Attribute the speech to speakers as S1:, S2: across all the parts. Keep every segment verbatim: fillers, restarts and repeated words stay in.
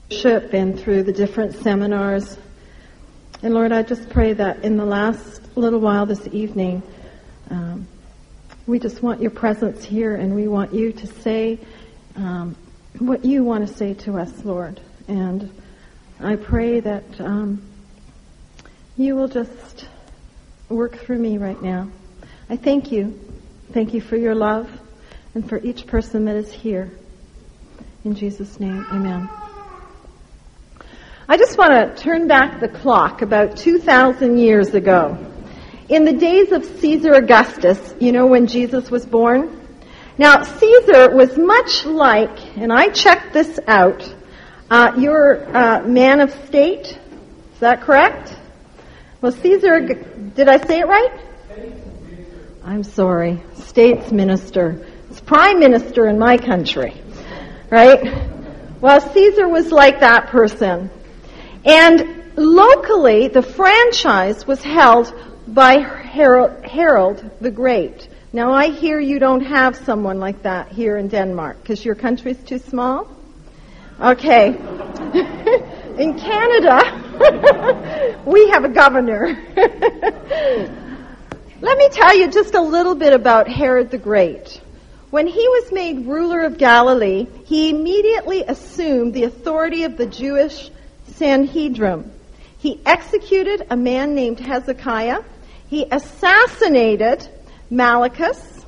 S1: worship and through the different seminars. And Lord, I just pray that in the last little while this evening, um, we just want your presence here, and we want you to say um, what you want to say to us, Lord. And I pray that um, you will just work through me right now. I thank you. Thank you for your love and for each person that is here. In Jesus' name, amen. I just want to turn back the clock about two thousand years ago. In the days of Caesar Augustus, you know, when Jesus was born? Now, Caesar was much like, and I checked this out, uh, your uh, man of state. Is that correct? Well, Caesar, did I say it right? I'm sorry. States minister. It's prime minister in my country. Right? Well, Caesar was like that person. And locally, the franchise was held by Harold, Harold the Great. Now, I hear you don't have someone like that here in Denmark because your country's too small. Okay. In Canada, we have a governor. Let me tell you just a little bit about Herod the Great. When he was made ruler of Galilee, he immediately assumed the authority of the Jewish Sanhedrin. He executed a man named Hezekiah. He assassinated Malichus.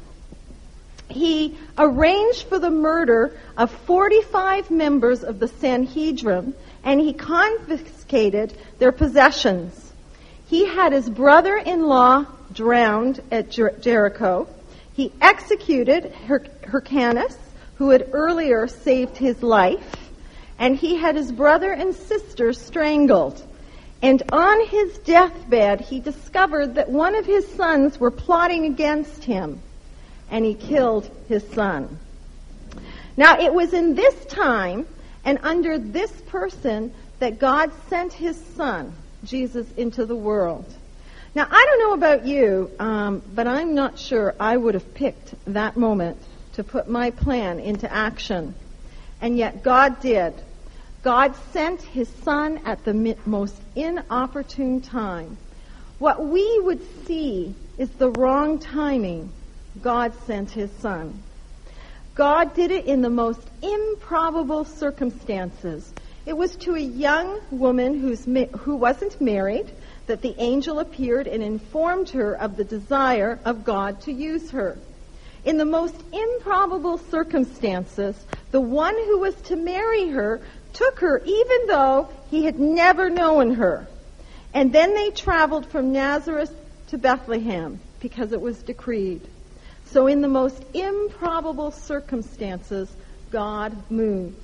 S1: He arranged for the murder of forty-five members of the Sanhedrin, and he confiscated their possessions. He had his brother-in-law drowned at Jer- Jericho. He executed Hyrc- Hyrcanus, who had earlier saved his life, and he had his brother and sister strangled. And on his deathbed, he discovered that one of his sons were plotting against him, and he killed his son. Now, it was in this time and under this person that God sent his son, Jesus, into the world. Now, I don't know about you, um, but I'm not sure I would have picked that moment to put my plan into action. And yet God did. God sent his son at the most inopportune time. What we would see is the wrong timing. God sent his son. God did it in the most improbable circumstances. It was to a young woman who's who wasn't married that the angel appeared and informed her of the desire of God to use her. In the most improbable circumstances, the one who was to marry her took her even though he had never known her. And then they traveled from Nazareth to Bethlehem because it was decreed. So in the most improbable circumstances, God moved.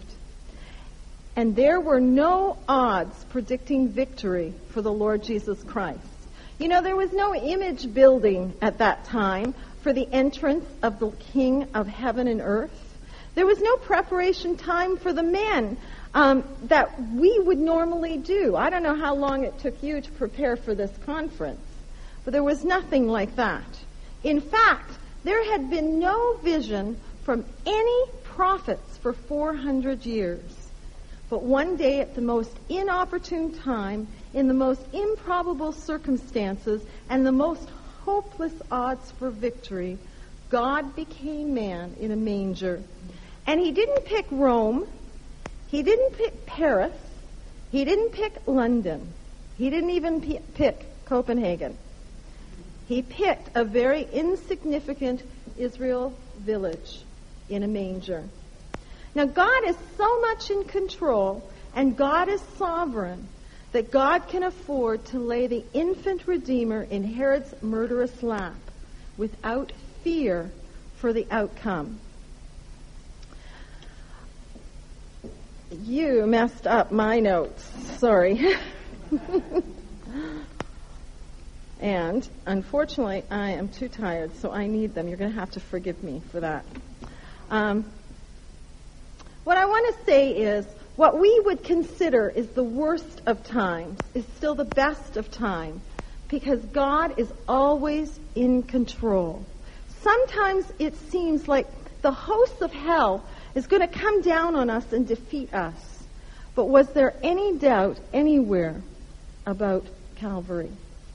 S1: And there were no odds predicting victory for the Lord Jesus Christ. You know, there was no image building at that time for the entrance of the King of heaven and earth. There was no preparation time for the men um, that we would normally do. I don't know how long it took you to prepare for this conference, but there was nothing like that. In fact, there had been no vision from any prophets for four hundred years. But one day, at the most inopportune time, in the most improbable circumstances, and the most hopeless odds for victory, God became man in a manger. And he didn't pick Rome. He didn't pick Paris. He didn't pick London. He didn't even p- pick Copenhagen. He picked a very insignificant Israel village in a manger. Now, God is so much in control, and God is sovereign, that God can afford to lay the infant Redeemer in Herod's murderous lap without fear for the outcome. You messed up my notes. Sorry. And, unfortunately, I am too tired, so I need them. You're going to have to forgive me for that. Um, what I want to say is, what we would consider is the worst of times is still the best of times, because God is always in control. Sometimes it seems like the hosts of hell is going to come down on us and defeat us. But was there any doubt anywhere about Calvary?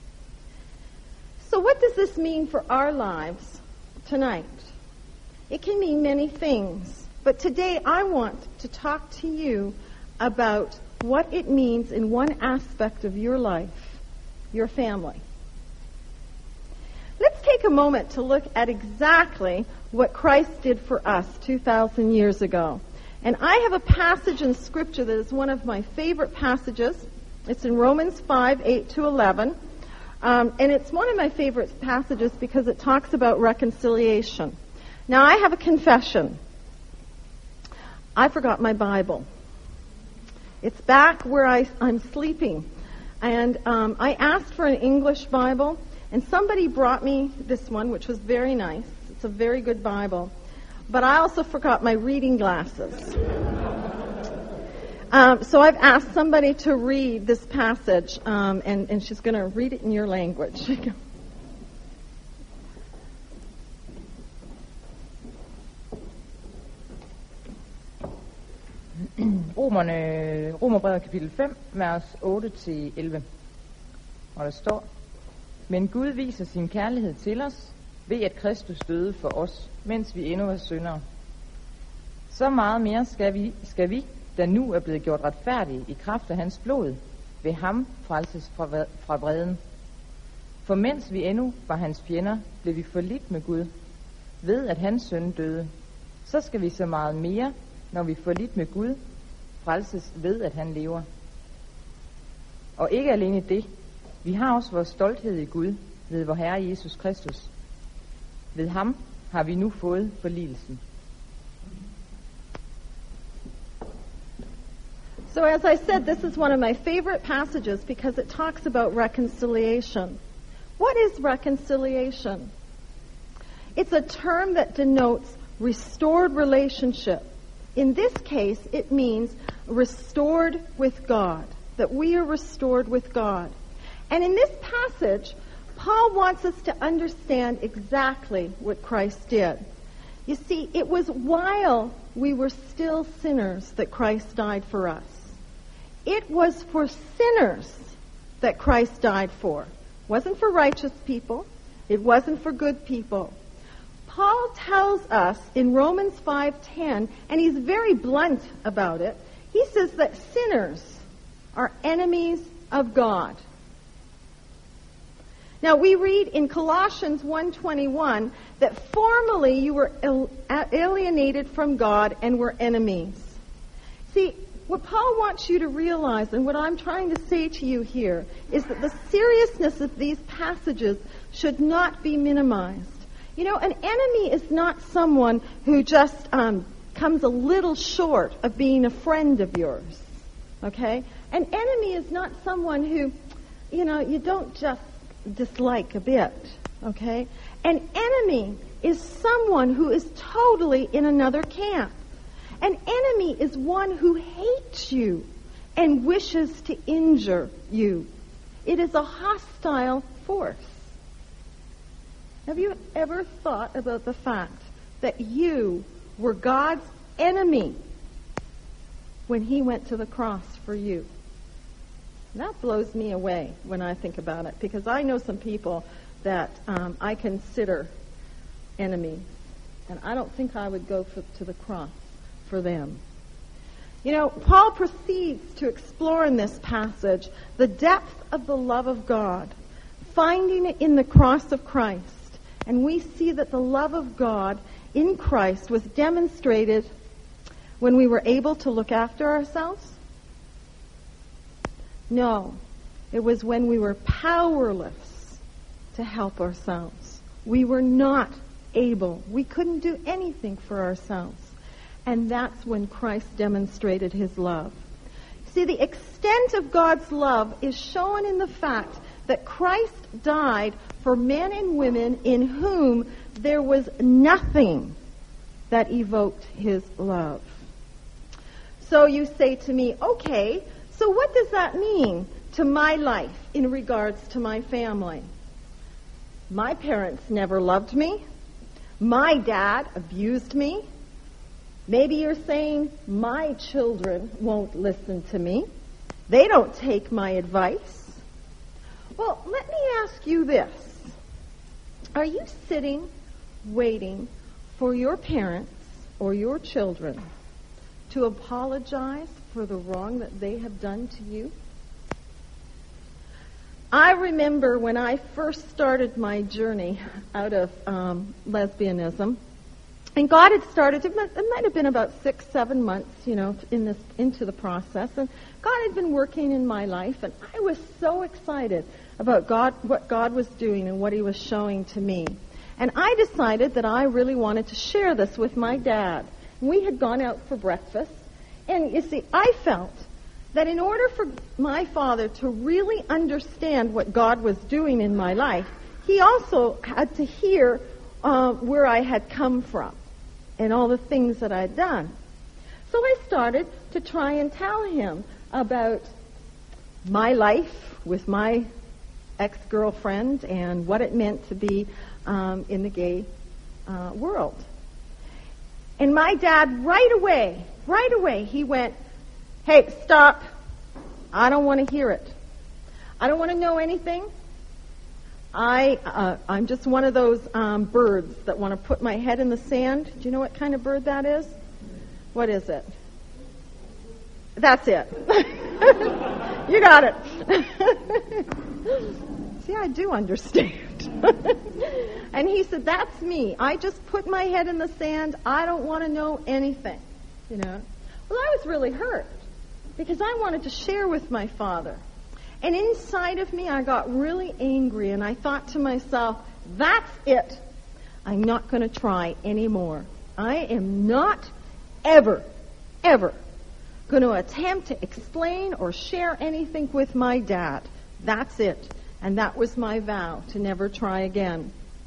S1: So what does this mean for our lives tonight? It can mean many things, but today I want to talk to you about what it means in one aspect of your life, your family. Let's take a moment to look at exactly what Christ did for us two thousand years ago. And I have a passage in Scripture that is one of my favorite passages. It's in Romans five, eight to eleven. Um, and it's one of my favorite passages because it talks about reconciliation. Now, I have a confession. I forgot my Bible. It's back where I, I'm sleeping. And um, I asked for an English Bible, and somebody brought me this one, which was very nice. It's a very good Bible. But I also forgot my reading glasses. Um, so I've asked somebody to read this passage, um, and, and she's going to read it in your language.
S2: Romerne, Romerbrevet kapitel fem, vers otte til elleve. Og der står: Men Gud viser sin kærlighed til os, ved at Kristus døde for os, mens vi endnu var syndere. Så meget mere skal vi, skal vi, der nu er blevet gjort retfærdige i kraft af hans blod, ved ham frelses fra, fra vreden. For mens vi endnu var hans fjender, blev vi forlidt med Gud, ved at hans søn døde. Så skal vi så meget mere, når vi forlidt med Gud, frelses ved at han lever. Og ikke alene det, vi har også vores stolthed i Gud, ved vor Herre Jesus Kristus. Ved ham har vi nu fået forligelsen.
S1: So as I said, this is one of my favorite passages because it talks about reconciliation. What is reconciliation? It's a term that denotes restored relationship. In this case, it means restored with God, that we are restored with God. And in this passage, Paul wants us to understand exactly what Christ did. You see, it was while we were still sinners that Christ died for us. It was for sinners that Christ died for. It wasn't for righteous people. It wasn't for good people. Paul tells us in Romans five ten, and he's very blunt about it, he says that sinners are enemies of God. Now, we read in Colossians one twenty-one that formerly you were alienated from God and were enemies. See, what Paul wants you to realize, and what I'm trying to say to you here, is that the seriousness of these passages should not be minimized. You know, an enemy is not someone who just um, comes a little short of being a friend of yours, okay? An enemy is not someone who, you know, you don't just dislike a bit, okay? An enemy is someone who is totally in another camp. An enemy is one who hates you and wishes to injure you. It is a hostile force. Have you ever thought about the fact that you were God's enemy when he went to the cross for you? That blows me away when I think about it, because I know some people that um, I consider enemies, and I don't think I would go for, to the cross for them. You know, Paul proceeds to explore in this passage the depth of the love of God, finding it in the cross of Christ. And we see that the love of God in Christ was demonstrated when we were able to look after ourselves. No, it was when we were powerless to help ourselves. We were not able. We couldn't do anything for ourselves. And that's when Christ demonstrated his love. See, the extent of God's love is shown in the fact that Christ died for men and women in whom there was nothing that evoked his love. So you say to me, okay, so what does that mean to my life in regards to my family? My parents never loved me. My dad abused me. Maybe you're saying, my children won't listen to me. They don't take my advice. Well, let me ask you this. Are you sitting, waiting for your parents or your children to apologize for the wrong that they have done to you? I remember when I first started my journey out of um, lesbianism, and God had started, it might, it might have been about six, seven months, you know, in this into the process, and God had been working in my life, and I was so excited about God, what God was doing and what He was showing to me. And I decided that I really wanted to share this with my dad. We had gone out for breakfast, and you see, I felt that in order for my father to really understand what God was doing in my life, he also had to hear uh, where I had come from and all the things that I'd done. So I started to try and tell him about my life with my ex-girlfriend and what it meant to be um, in the gay uh, world. And my dad, right away, right away, he went, hey, stop. I don't want to hear it. I don't want to know anything. I, uh, I'm just one of those um, birds that want to put my head in the sand. Do you know what kind of bird that is? What is it? That's it. You got it. See, I do understand. And he said, that's me. I just put my head in the sand. I don't want to know anything. You know. Well, I was really hurt because I wanted to share with my father. And inside of me, I got really angry, and I thought to myself, that's it. I'm not going to try anymore. I am not ever, ever going to attempt to explain or share anything with my dad. That's it. And that was my vow, to never try again.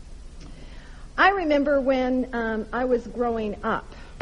S1: I remember when um, I was growing up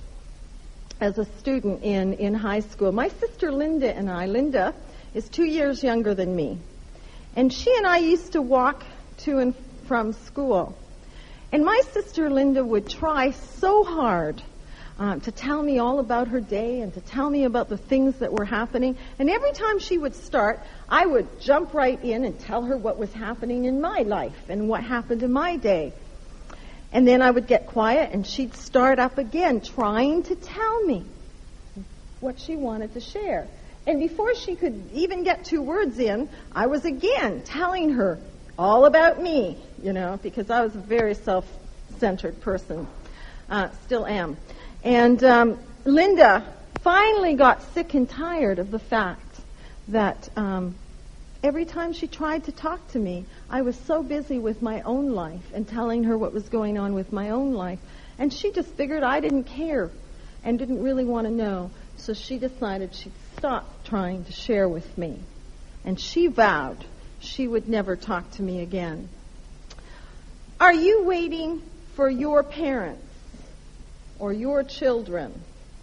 S1: as a student in, in high school, my sister Linda and I, Linda is two years younger than me. And she and I used to walk to and from school. And my sister Linda would try so hard um, to tell me all about her day and to tell me about the things that were happening. And every time she would start, I would jump right in and tell her what was happening in my life and what happened in my day. And then I would get quiet and she'd start up again trying to tell me what she wanted to share. And before she could even get two words in, I was again telling her all about me, you know, because I was a very self-centered person. Uh, still am. And um, Linda finally got sick and tired of the fact that um, every time she tried to talk to me, I was so busy with my own life and telling her what was going on with my own life. And she just figured I didn't care and didn't really want to know. So she decided she'd stop trying to share with me. And she vowed she would never talk to me again. Are you waiting for your parents or your children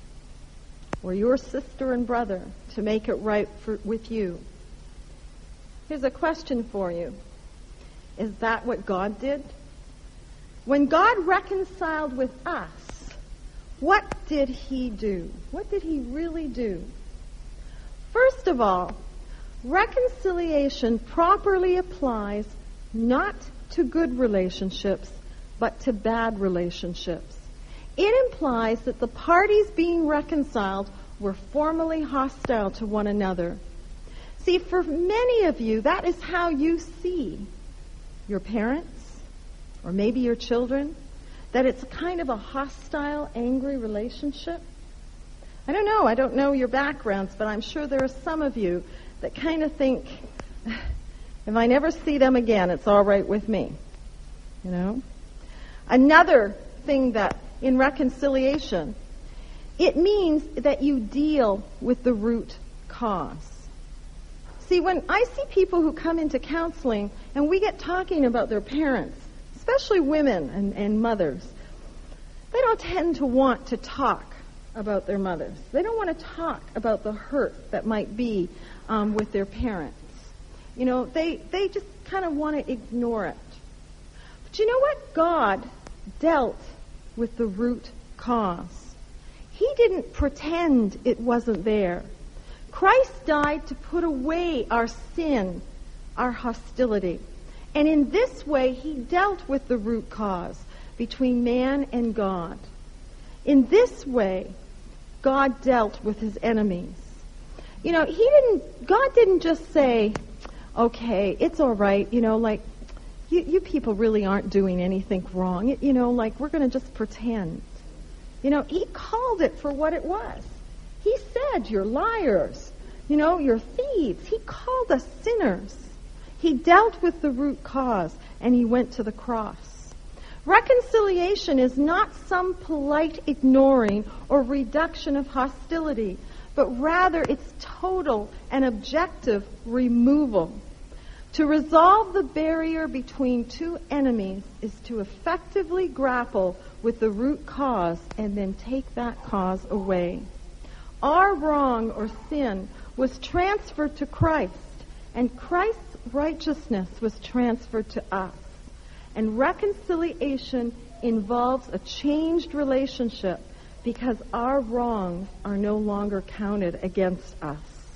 S1: or your sister and brother to make it right for, with you? Here's a question for you. Is that what God did? When God reconciled with us, what did He do? What did He really do? First of all, reconciliation properly applies not to good relationships, but to bad relationships. It implies that the parties being reconciled were formerly hostile to one another. See, for many of you, that is how you see your parents, or maybe your children, that it's kind of a hostile, angry relationship. I don't know. I don't know your backgrounds, but I'm sure there are some of you that kind of think, if I never see them again, it's all right with me. You know? Another thing that in reconciliation, it means that you deal with the root cause. See, when I see people who come into counseling and we get talking about their parents, especially women and, and mothers, they don't tend to want to talk about their mothers. They don't want to talk about the hurt that might be um, with their parents. You know, they, they just kind of want to ignore it. But you know what? God dealt with the root cause. He didn't pretend it wasn't there. Christ died to put away our sin, our hostility. And in this way, he dealt with the root cause between man and God. In this way, God dealt with his enemies. You know, he didn't, God didn't just say, okay, it's all right, you know, like, you, you people really aren't doing anything wrong. You know, like, we're going to just pretend. You know, he called it for what it was. He said, you're liars. You know, you're thieves. He called us sinners. He dealt with the root cause, and he went to the cross. Reconciliation is not some polite ignoring or reduction of hostility, but rather its total and objective removal. To resolve the barrier between two enemies is to effectively grapple with the root cause and then take that cause away. Our wrong or sin was transferred to Christ, and Christ's righteousness was transferred to us. And reconciliation involves a changed relationship because our wrongs are no longer counted against us.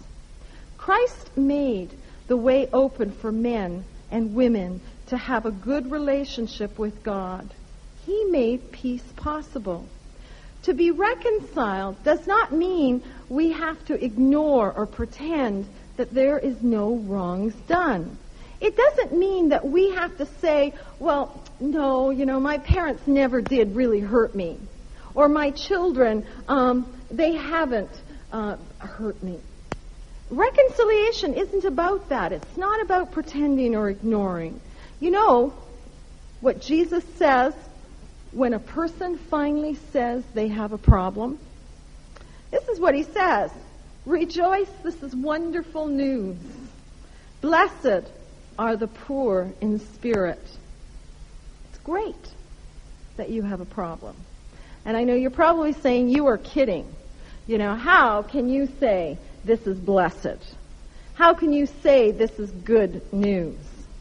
S1: Christ made the way open for men and women to have a good relationship with God. He made peace possible. To be reconciled does not mean we have to ignore or pretend that there is no wrongs done. It doesn't mean that we have to say, well, no, you know, my parents never did really hurt me. Or my children, um, they haven't uh, hurt me. Reconciliation isn't about that. It's not about pretending or ignoring. You know what Jesus says when a person finally says they have a problem? This is what he says. Rejoice, this is wonderful news. Blessed are the poor in spirit. It's great that you have a problem. And I know you're probably saying you are kidding. You know, how can you say this is blessed? How can you say this is good news?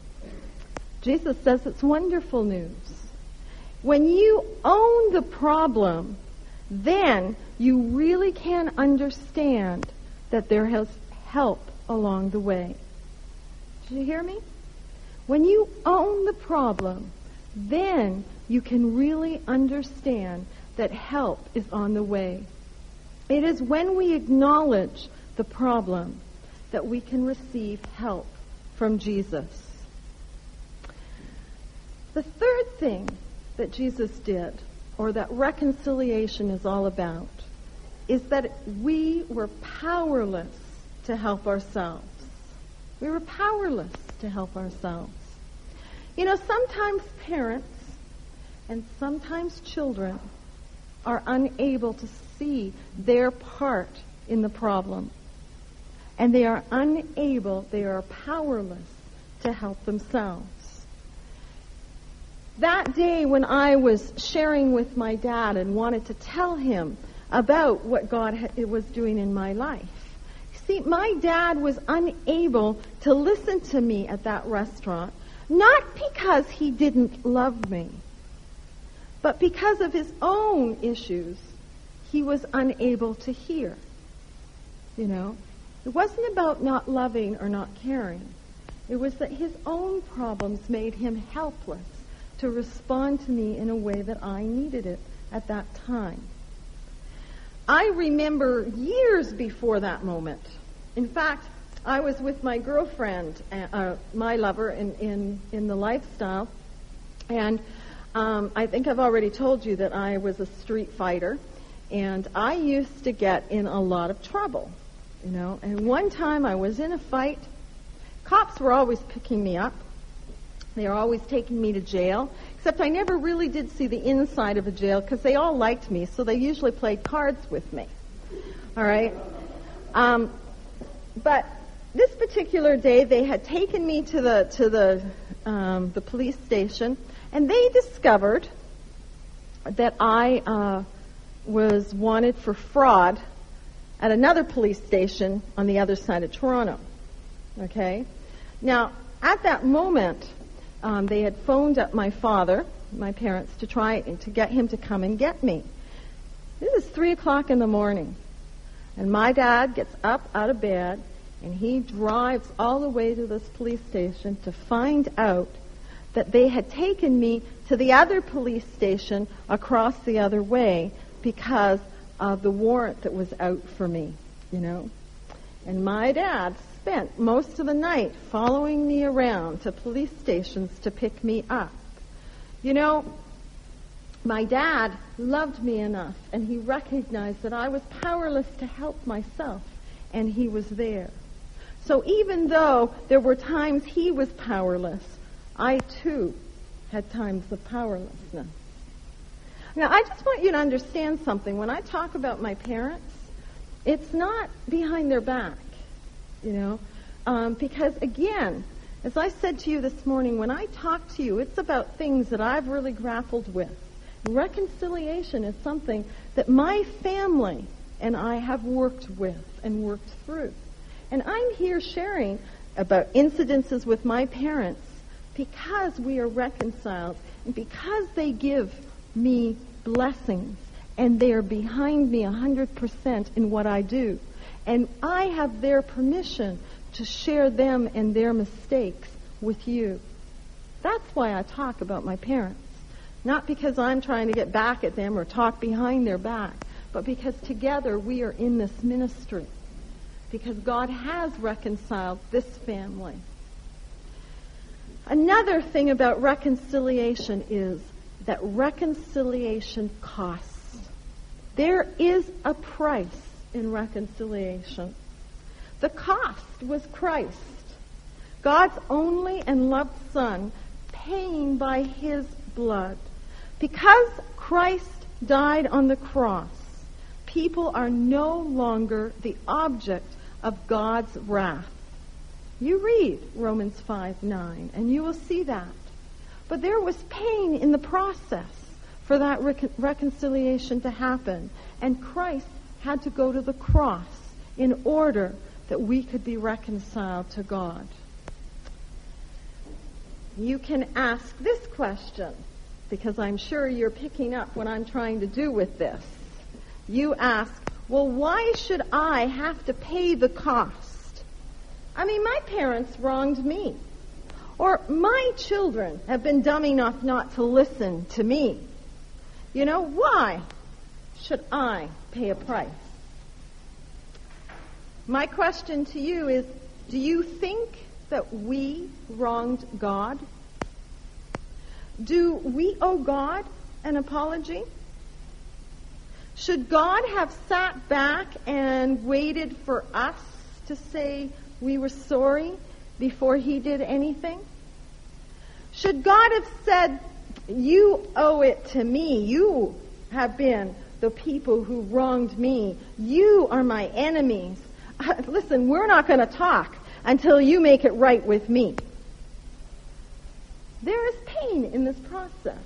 S1: Jesus says it's wonderful news. When you own the problem, then you really can understand that there is help along the way. Did you hear me? When you own the problem, then you can really understand that help is on the way. It is when we acknowledge the problem that we can receive help from Jesus. The third thing that Jesus did, or that reconciliation is all about, is that we were powerless to help ourselves. We were powerless to help ourselves. You know, sometimes parents and sometimes children are unable to see their part in the problem. And they are unable, they are powerless to help themselves. That day when I was sharing with my dad and wanted to tell him about what God was doing in my life, see, my dad was unable to listen to me at that restaurant, not because he didn't love me, but because of his own issues, he was unable to hear. You know, it wasn't about not loving or not caring. It was that his own problems made him helpless to respond to me in a way that I needed it at that time. I remember years before that moment. In fact, I was with my girlfriend, uh, my lover, in, in, in the lifestyle, and um, I think I've already told you that I was a street fighter, and I used to get in a lot of trouble, you know. And one time I was in a fight. Cops were always picking me up. They were always taking me to jail, except I never really did see the inside of a jail because they all liked me, so they usually played cards with me. All right? Um, but this particular day, they had taken me to the to the um, the police station, and they discovered that I uh, was wanted for fraud at another police station on the other side of Toronto. Okay? Now, at that moment, um, they had phoned up my father, my parents, to try and to get him to come and get me. This is three o'clock in the morning. And my dad gets up out of bed, and he drives all the way to this police station to find out that they had taken me to the other police station across the other way because of the warrant that was out for me, you know. And my dad spent most of the night following me around to police stations to pick me up. You know, my dad loved me enough, and he recognized that I was powerless to help myself, and he was there. So even though there were times he was powerless, I too had times of powerlessness. Now, I just want you to understand something. When I talk about my parents, it's not behind their back, you know, um, because again, as I said to you this morning, when I talk to you, it's about things that I've really grappled with. Reconciliation is something that my family and I have worked with and worked through. And I'm here sharing about incidences with my parents because we are reconciled and because they give me blessings and they are behind me one hundred percent in what I do. And I have their permission to share them and their mistakes with you. That's why I talk about my parents. Not because I'm trying to get back at them or talk behind their back, but because together we are in this ministry. Because God has reconciled this family. Another thing about reconciliation is that reconciliation costs. There is a price in reconciliation. The cost was Christ, God's only and loved Son, paying by His blood. Because Christ died on the cross, people are no longer the object of God's wrath. You read Romans five nine, and you will see that. But there was pain in the process for that rec- reconciliation to happen. And Christ had to go to the cross in order that we could be reconciled to God. You can ask this question, because I'm sure you're picking up what I'm trying to do with this. You ask, well, why should I have to pay the cost? I mean, my parents wronged me. Or my children have been dumb enough not to listen to me. You know, why should I pay a price? My question to you is, do you think that we wronged God? Do we owe God an apology? Should God have sat back and waited for us to say we were sorry before He did anything? Should God have said, you owe it to me. You have been the people who wronged me. You are my enemies. Listen, we're not going to talk until you make it right with me. There is pain in this process.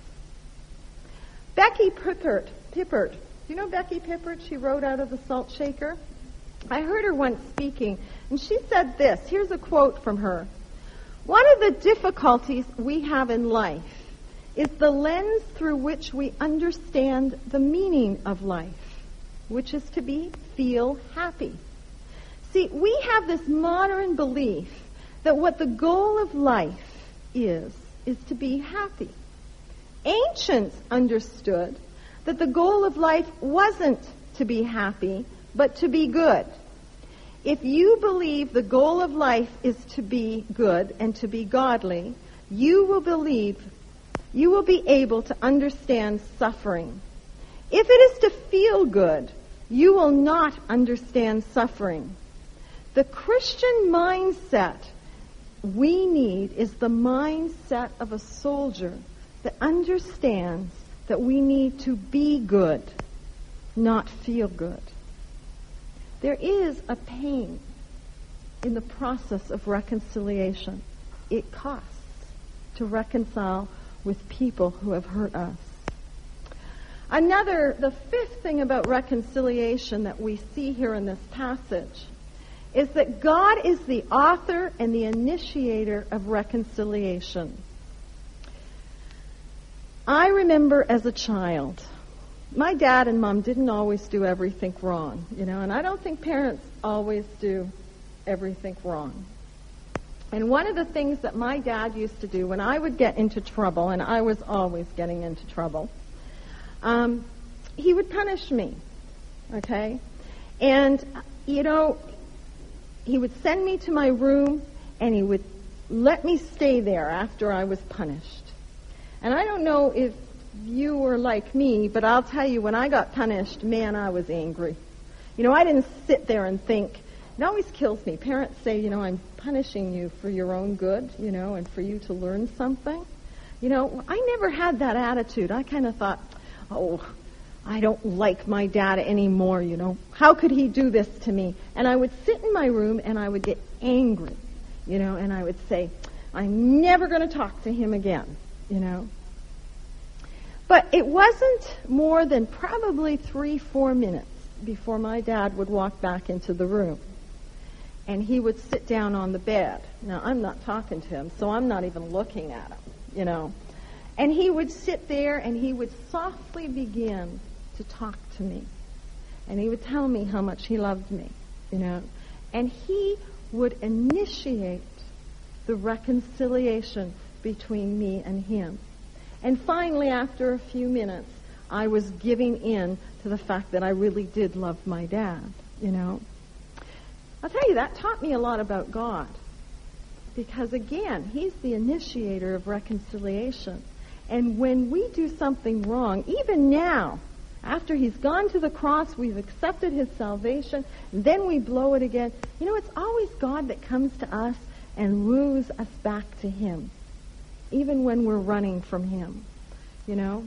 S1: Becky Pippert, Pippert, you know Becky Pippert? She wrote out of the Salt Shaker. I heard her once speaking, and she said this. Here's a quote from her. One of the difficulties we have in life is the lens through which we understand the meaning of life, which is to be feel happy. See, we have this modern belief that what the goal of life is, is to be happy. Ancients understood that the goal of life wasn't to be happy, but to be good. If you believe the goal of life is to be good and to be godly, you will believe, you will be able to understand suffering. If it is to feel good, you will not understand suffering. The Christian mindset we need is the mindset of a soldier that understands that we need to be good, not feel good. There is a pain in the process of reconciliation. It costs to reconcile with people who have hurt us. Another, the fifth thing about reconciliation that we see here in this passage is that God is the author and the initiator of reconciliation. I remember as a child my dad and mom didn't always do everything wrong, you know, and I don't think parents always do everything wrong. And one of the things that my dad used to do when I would get into trouble, and I was always getting into trouble, um, he would punish me, okay? And, you know, he would send me to my room, and he would let me stay there after I was punished. And I don't know if you were like me, but I'll tell you, when I got punished, man, I was angry. You know, I didn't sit there and think. It always kills me. Parents say, you know, I'm punishing you for your own good, you know, and for you to learn something. You know, I never had that attitude. I kind of thought, oh, I don't like my dad anymore, you know. How could he do this to me? And I would sit in my room and I would get angry, you know, and I would say, I'm never going to talk to him again, you know. But it wasn't more than probably three, four minutes before my dad would walk back into the room. And he would sit down on the bed. Now, I'm not talking to him, so I'm not even looking at him, you know. And he would sit there and he would softly begin to talk to me. And he would tell me how much he loved me, you know. And he would initiate the reconciliation between me and him. And finally, after a few minutes, I was giving in to the fact that I really did love my dad, you know. I'll tell you, that taught me a lot about God. Because, again, he's the initiator of reconciliation. And when we do something wrong, even now, after he's gone to the cross, we've accepted his salvation, and then we blow it again. You know, it's always God that comes to us and woos us back to him, even when we're running from him, you know.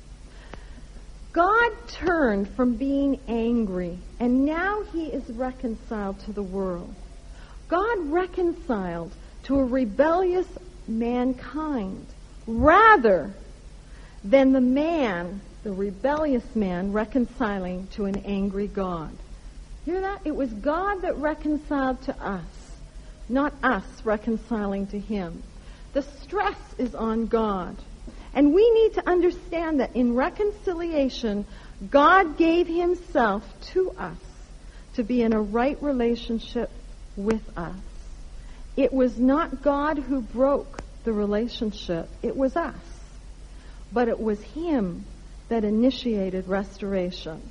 S1: God turned from being angry, and now he is reconciled to the world. God reconciled to a rebellious mankind rather than the man, the rebellious man, reconciling to an angry God. Hear that? It was God that reconciled to us, not us reconciling to him. The stress is on God. And we need to understand that in reconciliation, God gave himself to us to be in a right relationship with us. It was not God who broke the relationship. It was us. But it was him that initiated restoration.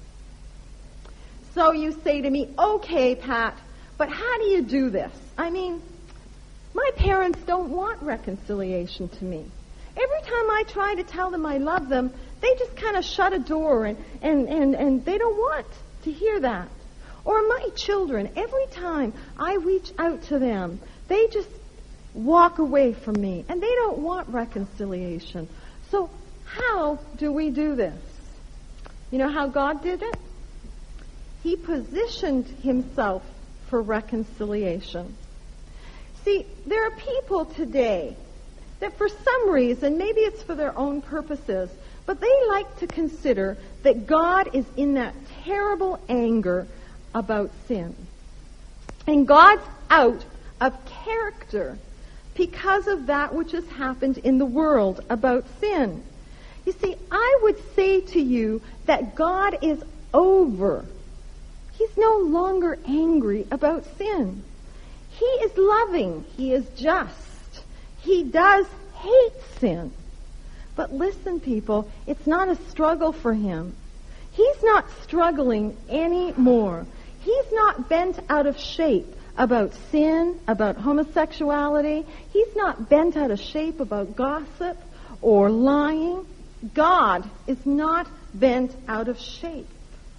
S1: So you say to me, okay, Pat, but how do you do this? I mean, my parents don't want reconciliation to me. Every time I try to tell them I love them, they just kind of shut a door and, and, and, and they don't want to hear that. Or my children, every time I reach out to them, they just walk away from me and they don't want reconciliation. So how do we do this? You know how God did it? He positioned himself for reconciliation. See, there are people today that for some reason, maybe it's for their own purposes, but they like to consider that God is in that terrible anger about sin. And God's out of character because of that which has happened in the world about sin. You see, I would say to you that God is over. He's no longer angry about sin. He is loving. He is just. He does hate sin. But listen, people, it's not a struggle for him. He's not struggling anymore. He's not bent out of shape about sin, about homosexuality. He's not bent out of shape about gossip or lying. God is not bent out of shape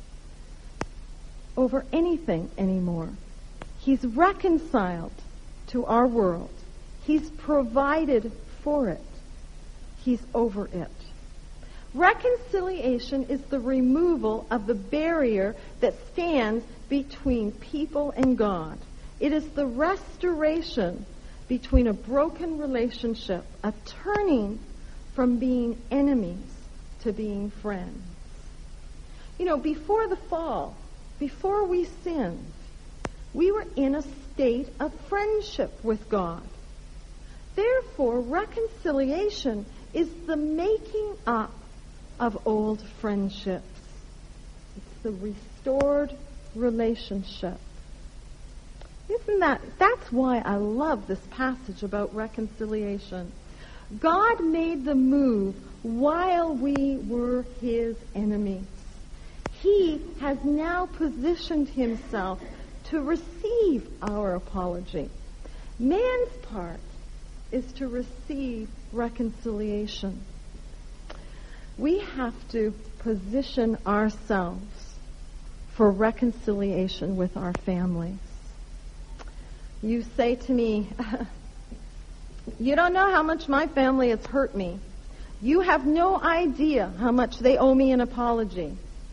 S1: over anything anymore. He's reconciled to our world. He's provided for it. He's over it. Reconciliation is the removal of the barrier that stands between people and God. It is the restoration between a broken relationship, a turning from being enemies to being friends. You know, before the fall, before we sinned, we were in a state of friendship with God. Therefore, reconciliation is the making up of old friendships. a restored relationship. Isn't that, that's why I love this passage about reconciliation. God made the move while we were his enemies. He has now positioned himself to receive our apology. Man's part is to receive reconciliation. We have to position ourselves for reconciliation with our families. You say to me, you don't know how much my family has hurt me. You have no idea how much they owe me an apology.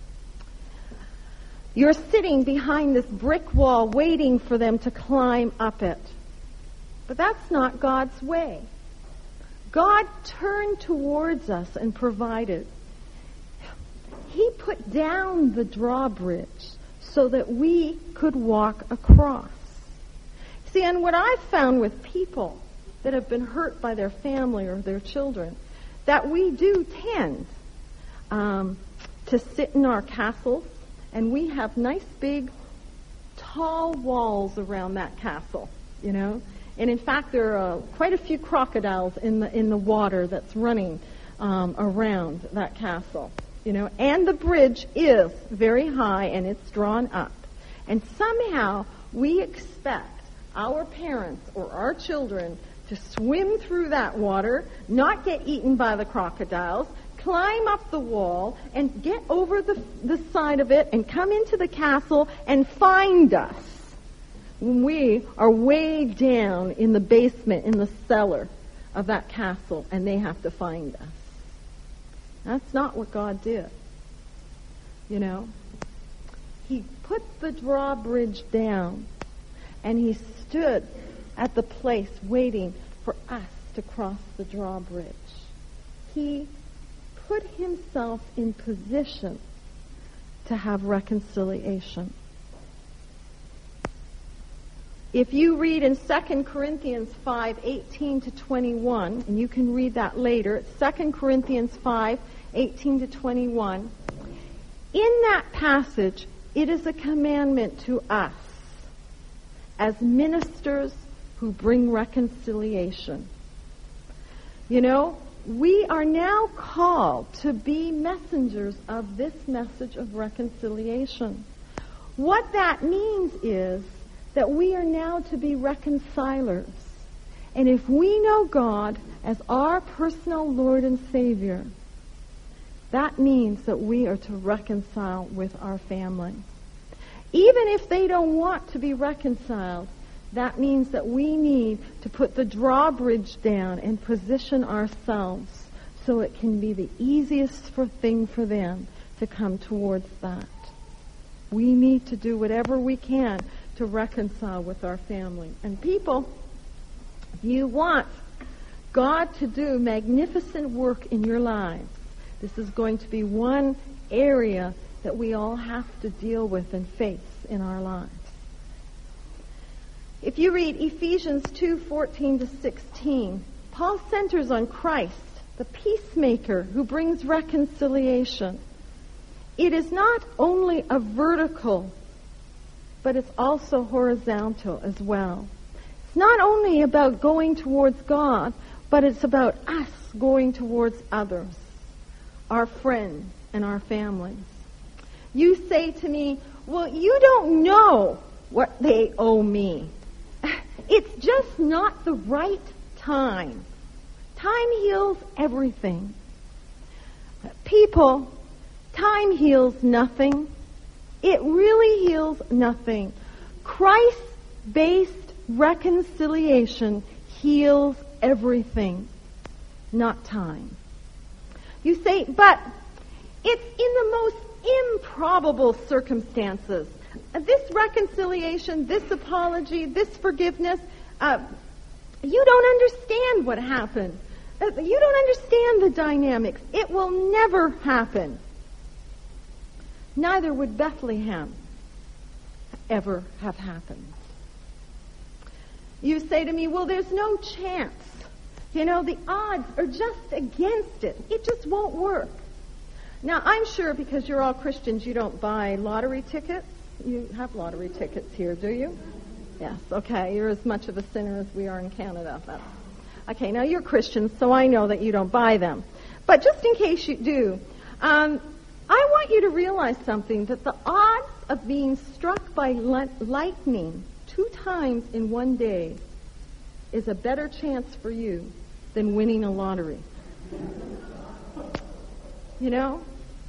S1: You're sitting behind this brick wall waiting for them to climb up it. But that's not God's way. God turned towards us and provided. He put down the drawbridge so that we could walk across. See, and what I've found with people that have been hurt by their family or their children, that we do tend um, to sit in our castles, and we have nice big tall walls around that castle, you know. And in fact, there are uh, quite a few crocodiles in the in the water that's running um, around that castle, you know. And the bridge is very high and it's drawn up. And somehow we expect our parents or our children to swim through that water, not get eaten by the crocodiles, climb up the wall, and get over the, the side of it and come into the castle and find us when we are way down in the basement, in the cellar of that castle, and they have to find us. That's not what God did. You know, he put the drawbridge down, and he stood at the place waiting for us to cross the drawbridge. He put himself in position to have reconciliation. If you read in Second Corinthians five, eighteen to twenty-one, and you can read that later, it's Second Corinthians five, eighteen to twenty-one, in that passage, it is a commandment to us as ministers who bring reconciliation. You know, we are now called to be messengers of this message of reconciliation. What that means is that we are now to be reconcilers. And if we know God as our personal Lord and Savior, that means that we are to reconcile with our family. Even if they don't want to be reconciled, that means that we need to put the drawbridge down and position ourselves so it can be the easiest for thing for them to come towards that. We need to do whatever we can to reconcile with our family. And people, if you want God to do magnificent work in your lives, this is going to be one area that we all have to deal with and face in our lives. If you read Ephesians two, fourteen to sixteen, Paul centers on Christ, the peacemaker who brings reconciliation. It is not only a vertical, but it's also horizontal as well. It's not only about going towards God, but it's about us going towards others, our friends and our families. You say to me, well, you don't know what they owe me. It's just not the right time. Time heals everything. People, time heals nothing. It really heals nothing. Christ-based reconciliation heals everything, not time. You say, but it's in the most improbable circumstances. This reconciliation, this apology, this forgiveness, uh, you don't understand what happened. Uh, you don't understand the dynamics. It will never happen. Neither would Bethlehem ever have happened. You say to me, well, there's no chance. You know, the odds are just against it. It just won't work. Now, I'm sure because you're all Christians, you don't buy lottery tickets. You have lottery tickets here, do you? Yes, okay. You're as much of a sinner as we are in Canada. That's, okay, now you're Christians, so I know that you don't buy them. But just in case you do, um, I want you to realize something, that the odds of being struck by li- lightning two times in one day is a better chance for you than winning a lottery. You know?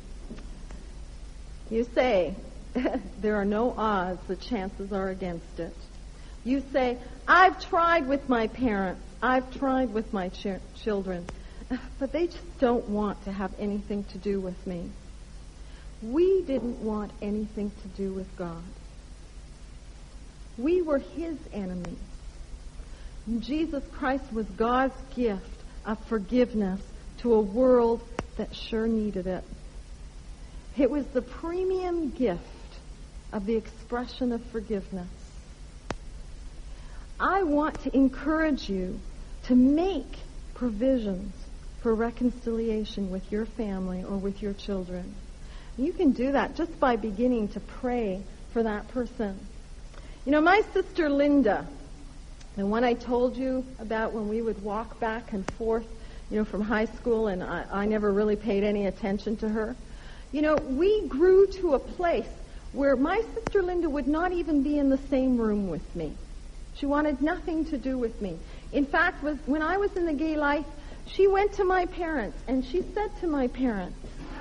S1: You say, there are no odds, the chances are against it. You say, I've tried with my parents, I've tried with my ch- children, but they just don't want to have anything to do with me. We didn't want anything to do with God. We were His enemies. Jesus Christ was God's gift of forgiveness to a world that sure needed it. It was the premium gift of the expression of forgiveness. I want to encourage you to make provisions for reconciliation with your family or with your children. You can do that just by beginning to pray for that person. You know, my sister Linda, the one I told you about when we would walk back and forth, you know, from high school, and I, I never really paid any attention to her. You know, we grew to a place where my sister Linda would not even be in the same room with me. She wanted nothing to do with me. In fact, was, when I was in the gay life, she went to my parents and she said to my parents,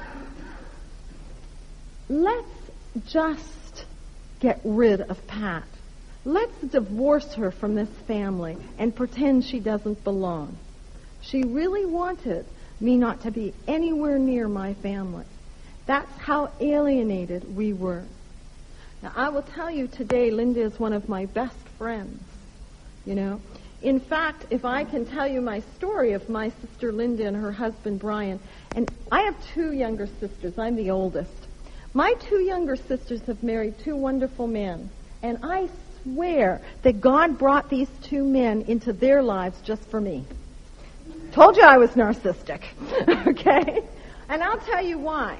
S1: let's just get rid of Pat. Let's divorce her from this family and pretend she doesn't belong. She really wanted me not to be anywhere near my family. That's how alienated we were. Now, I will tell you today, Linda is one of my best friends, you know. In fact, if I can tell you my story of my sister Linda and her husband Brian, and I have two younger sisters. I'm the oldest. My two younger sisters have married two wonderful men, and I swear that God brought these two men into their lives just for me. Told you I was narcissistic, okay? And I'll tell you why.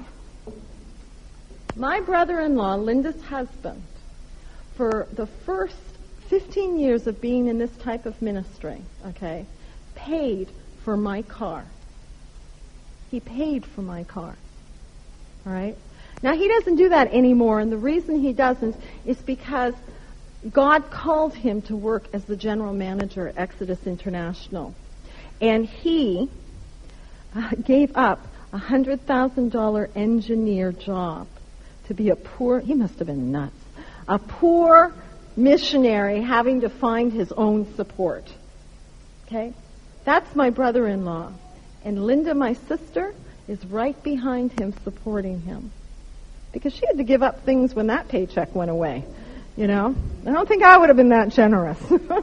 S1: My brother-in-law, Linda's husband, for the first fifteen years of being in this type of ministry, okay, paid for my car. He paid for my car, all right? Now, he doesn't do that anymore, and the reason he doesn't is because God called him to work as the general manager at Exodus International. And he uh, gave up a one hundred thousand dollars engineer job to be a poor, he must have been nuts, a poor missionary having to find his own support. Okay? That's my brother-in-law. And Linda, my sister, is right behind him supporting him. Because she had to give up things when that paycheck went away. You know? I don't think I would have been that generous.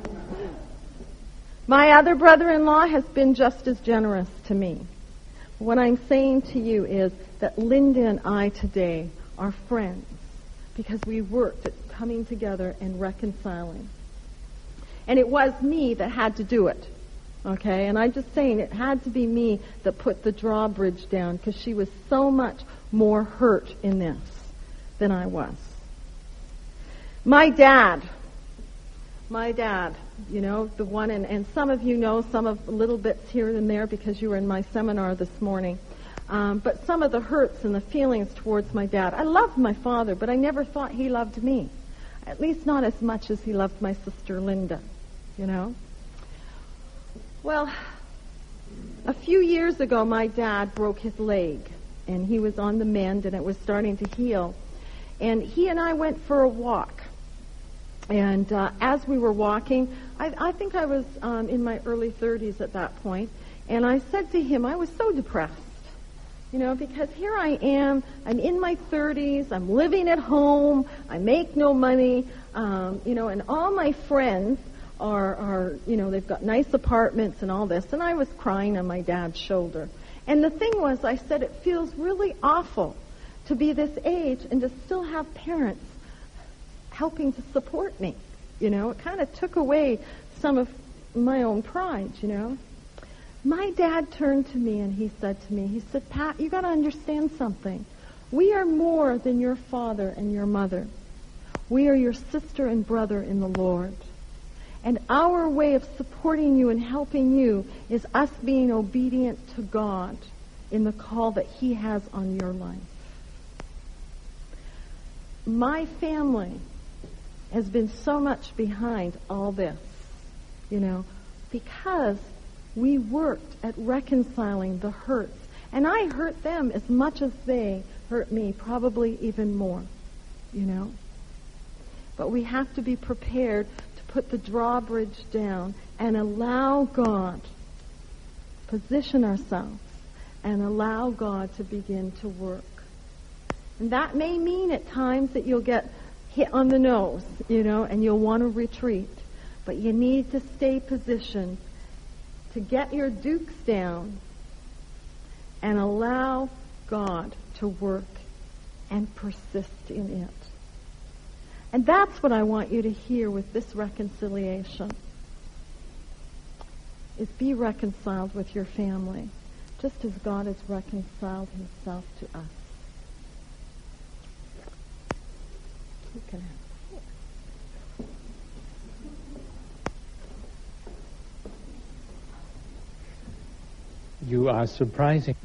S1: My other brother-in-law has been just as generous to me. What I'm saying to you is that Linda and I today are friends because we worked at coming together and reconciling. And it was me that had to do it. Okay? And I'm just saying it had to be me that put the drawbridge down because she was so much more hurt in this than I was. My dad, my dad, you know, the one, and, and some of you know some of little bits here and there because you were in my seminar this morning. Um, but some of the hurts and the feelings towards my dad. I loved my father, but I never thought he loved me. At least not as much as he loved my sister Linda, you know. Well, a few years ago, my dad broke his leg, and he was on the mend, and it was starting to heal. And he and I went for a walk. And uh, as we were walking, I, I think I was um, in my early thirties at that point, and I said to him, I was so depressed, you know, because here I am, I'm in my thirties, I'm living at home, I make no money, um, you know, and all my friends are, are, you know, they've got nice apartments and all this, and I was crying on my dad's shoulder. And the thing was, I said, it feels really awful to be this age and to still have parents helping to support me, you know. It kind of took away some of my own pride, you know. My dad turned to me and he said to me, he said, Pat, you got to understand something. We are more than your father and your mother. We are your sister and brother in the Lord. And our way of supporting you and helping you is us being obedient to God in the call that He has on your life. My family has been so much behind all this, you know, because we worked at reconciling the hurts. And I hurt them as much as they hurt me, probably even more, you know. But we have to be prepared to put the drawbridge down and allow God, position ourselves, and allow God to begin to work. And that may mean at times that you'll get hit on the nose, you know, and you'll want to retreat. But you need to stay positioned to get your dukes down and allow God to work and persist in it. And that's what I want you to hear with this reconciliation, is be reconciled with your family, just as God has reconciled Himself to us. You can have it.
S3: You are surprising.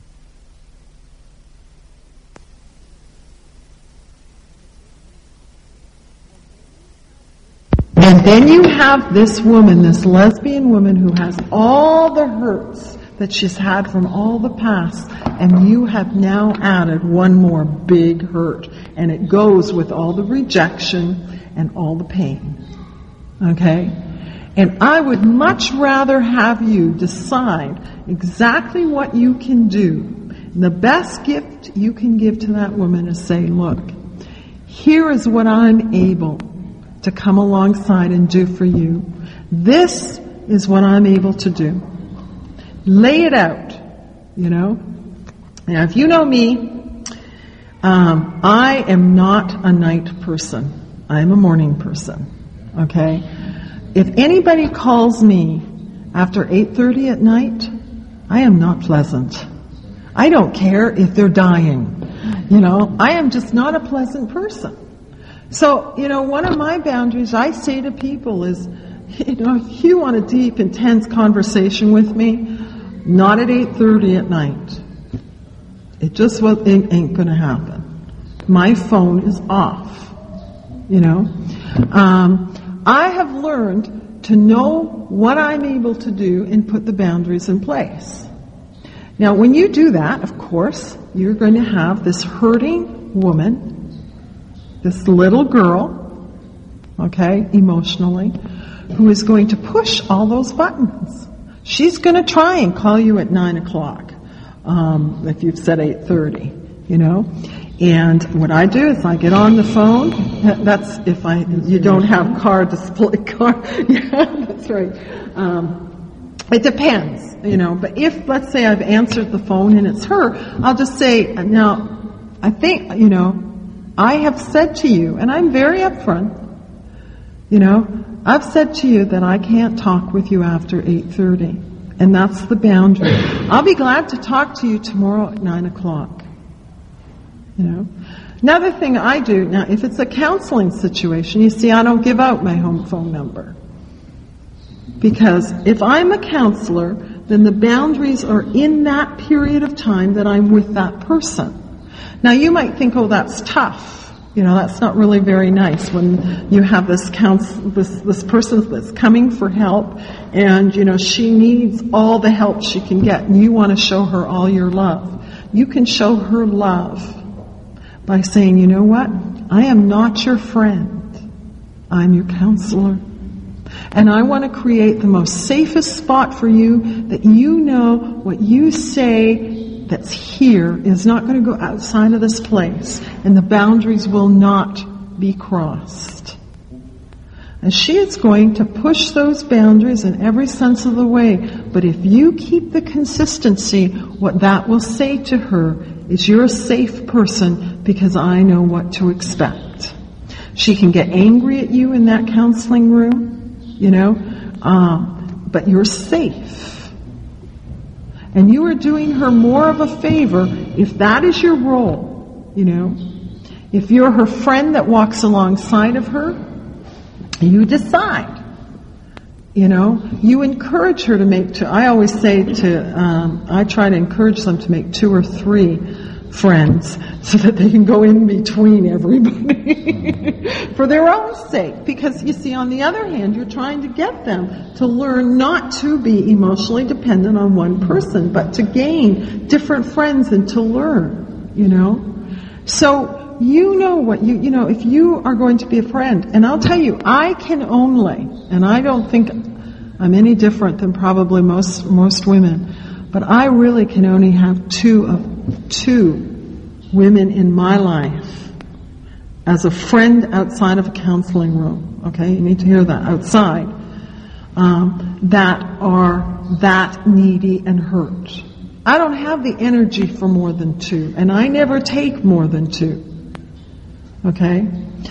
S4: And then you have this woman, this lesbian woman who has all the hurts that she's had from all the past, and you have now added one more big hurt, and it goes with all the rejection and all the pain. Okay? And I would much rather have you decide exactly what you can do. And the best gift you can give to that woman is say, look, here is what I'm able to come alongside and do for you. This is what I'm able to do. Lay it out, you know. Now, if you know me, um, I am not a night person. I am a morning person, okay? If anybody calls me after eight thirty at night, I am not pleasant. I don't care if they're dying. You know, I am just not a pleasant person. So, you know, one of my boundaries I say to people is, you know, if you want a deep, intense conversation with me, not at eight thirty at night. It just ain't, ain't going to happen. My phone is off, you know. Um, I have learned to know what I'm able to do and put the boundaries in place. Now, when you do that, of course, you're going to have this hurting woman, this little girl, okay, emotionally, who is going to push all those buttons. She's going to try and call you at nine o'clock, um, if you've said eight thirty, you know. And what I do is I get on the phone. That's if I you don't have car display car. Yeah, that's right. Um, it depends, you know. But if, let's say, I've answered the phone and it's her, I'll just say, now, I think, you know, I have said to you, and I'm very upfront, you know, I've said to you that I can't talk with you after eight thirty, and that's the boundary. I'll be glad to talk to you tomorrow at nine o'clock, you know. Another thing I do, now if it's a counseling situation, you see, I don't give out my home phone number. Because if I'm a counselor, then the boundaries are in that period of time that I'm with that person. Now you might think, oh, that's tough. You know, that's not really very nice when you have this counsel, this this person that's coming for help, and you know she needs all the help she can get, and you want to show her all your love. You can show her love by saying, you know what? I am not your friend. I'm your counselor. And I want to create the most safest spot for you that you know what you say that's here is not going to go outside of this place, and the boundaries will not be crossed. And she is going to push those boundaries in every sense of the way. But if you keep the consistency, what that will say to her is, you're a safe person because I know what to expect. She can get angry at you in that counseling room, you know, uh, but you're safe. And you are doing her more of a favor if that is your role, you know. If you're her friend that walks alongside of her, you decide. You know, you encourage her to make two. I always say to, um, I try to encourage them to make two or three friends so that they can go in between everybody for their own sake. Because you see, on the other hand, you're trying to get them to learn not to be emotionally dependent on one person, but to gain different friends and to learn, you know. So you know what you, you know, if you are going to be a friend, and I'll tell you, I can only, and I don't think I'm any different than probably most, most women, but I really can only have two of, two women in my life as a friend outside of a counseling room, okay? You need to hear that, outside, um, that are that needy and hurt. I don't have the energy for more than two, and I never take more than two. Okay?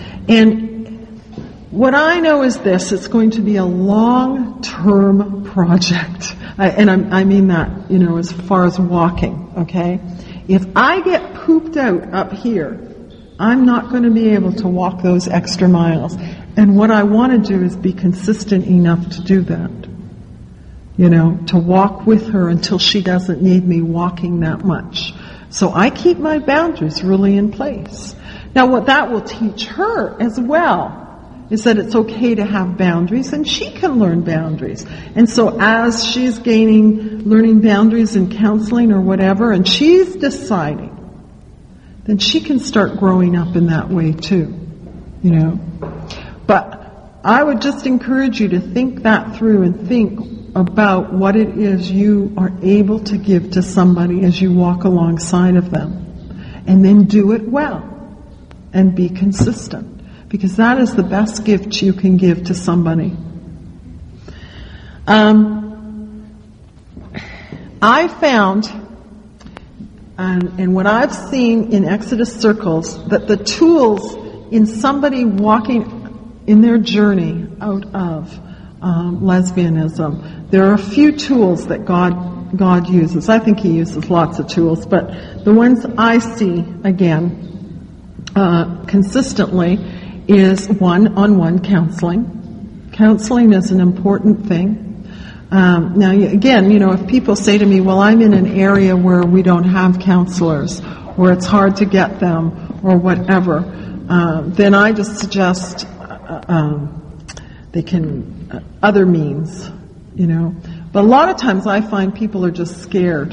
S4: And what I know is this, it's going to be a long-term project. I, and I, I mean that, you know, as far as walking, okay? If I get pooped out up here, I'm not going to be able to walk those extra miles. And what I want to do is be consistent enough to do that. You know, to walk with her until she doesn't need me walking that much. So I keep my boundaries really in place. Now what that will teach her as well is that it's okay to have boundaries, and she can learn boundaries. And so as she's gaining, learning boundaries in counseling or whatever, and she's deciding, then she can start growing up in that way too, you know. But I would just encourage you to think that through and think about what it is you are able to give to somebody as you walk alongside of them. And then do it well. And be consistent. Because that is the best gift you can give to somebody. Um, I found, and, and what I've seen in Exodus circles, that the tools in somebody walking in their journey out of um, lesbianism, there are a few tools that God God uses. I think He uses lots of tools, but the ones I see, again, Uh, consistently is one-on-one counseling. Counseling is an important thing. Um, now, again, you know, if people say to me, well, I'm in an area where we don't have counselors, or it's hard to get them, or whatever, uh, then I just suggest uh, um, they can, uh, other means, you know. But a lot of times I find people are just scared.